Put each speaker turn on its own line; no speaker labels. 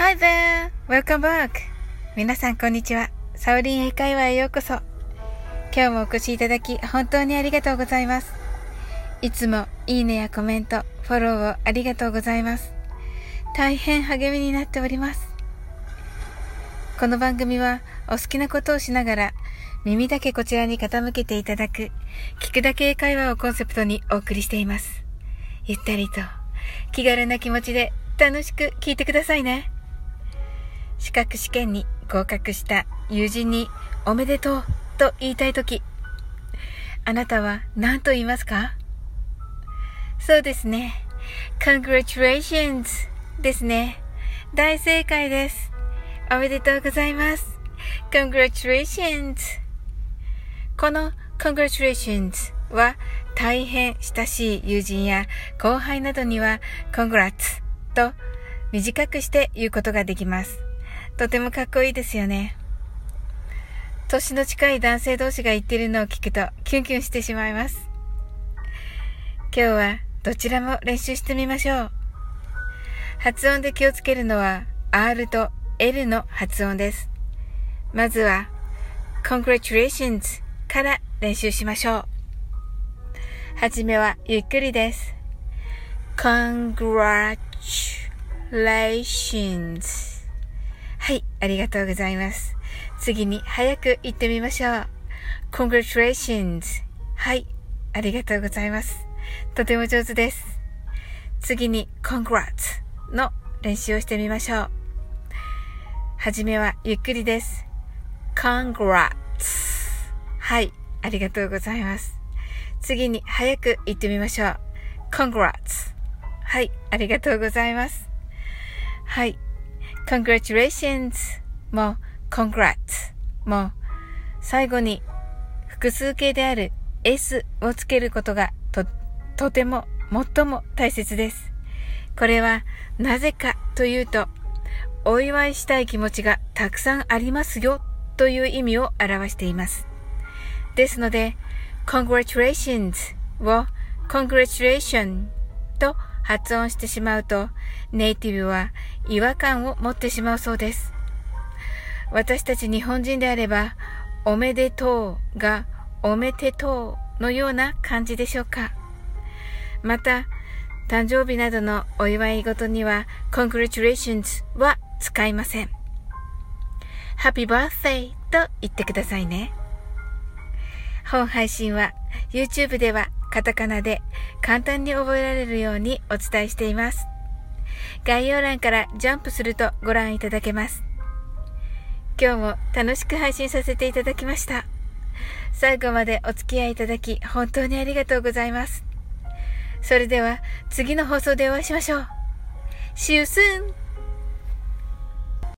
Hi there! Welcome back! 皆さんこんにちは。サオリン英会話へようこそ。今日もお越しいただき本当にありがとうございます。いつもいいねやコメント、フォローをありがとうございます。大変励みになっております。この番組はお好きなことをしながら耳だけこちらに傾けていただく聞くだけ英会話をコンセプトにお送りしています。ゆったりと気軽な気持ちで楽しく聞いてくださいね。資格試験に合格した友人におめでとうと言いたいとき、あなたは何と言いますか？そうですね。Congratulations ですね。大正解です。おめでとうございます。Congratulations。この Congratulations は大変親しい友人や後輩などには Congrats と短くして言うことができます。とてもかっこいいですよね。年の近い男性同士が言っているのを聞くとキュンキュンしてしまいます。今日はどちらも練習してみましょう。発音で気をつけるのは R と L の発音です。まずは Congratulations から練習しましょう。はじめはゆっくりです。Congratulations。はい、ありがとうございます。次に早く言ってみましょう。Congratulations。はい、ありがとうございます。とても上手です。次に Congrats の練習をしてみましょう。はじめはゆっくりです。Congrats。はい、ありがとうございます。次に早く言ってみましょう。Congrats。はい、ありがとうございます。はい。Congratulations も Congrats も最後に複数形である S をつけることがとても最も大切です。これはなぜかというと、お祝いしたい気持ちがたくさんありますよという意味を表しています。ですので Congratulations を Congratulation と発音してしまうと、ネイティブは違和感を持ってしまうそうです。私たち日本人であれば、おめでとうがおめてとうのような感じでしょうか。また、誕生日などのお祝い事には Congratulations は使いません。Happy Birthday と言ってくださいね。本配信は YouTube ではカタカナで簡単に覚えられるようにお伝えしています。概要欄からジャンプするとご覧いただけます。今日も楽しく配信させていただきました。最後までお付き合いいただき本当にありがとうございます。それでは次の放送でお会いしましょう。See you soon!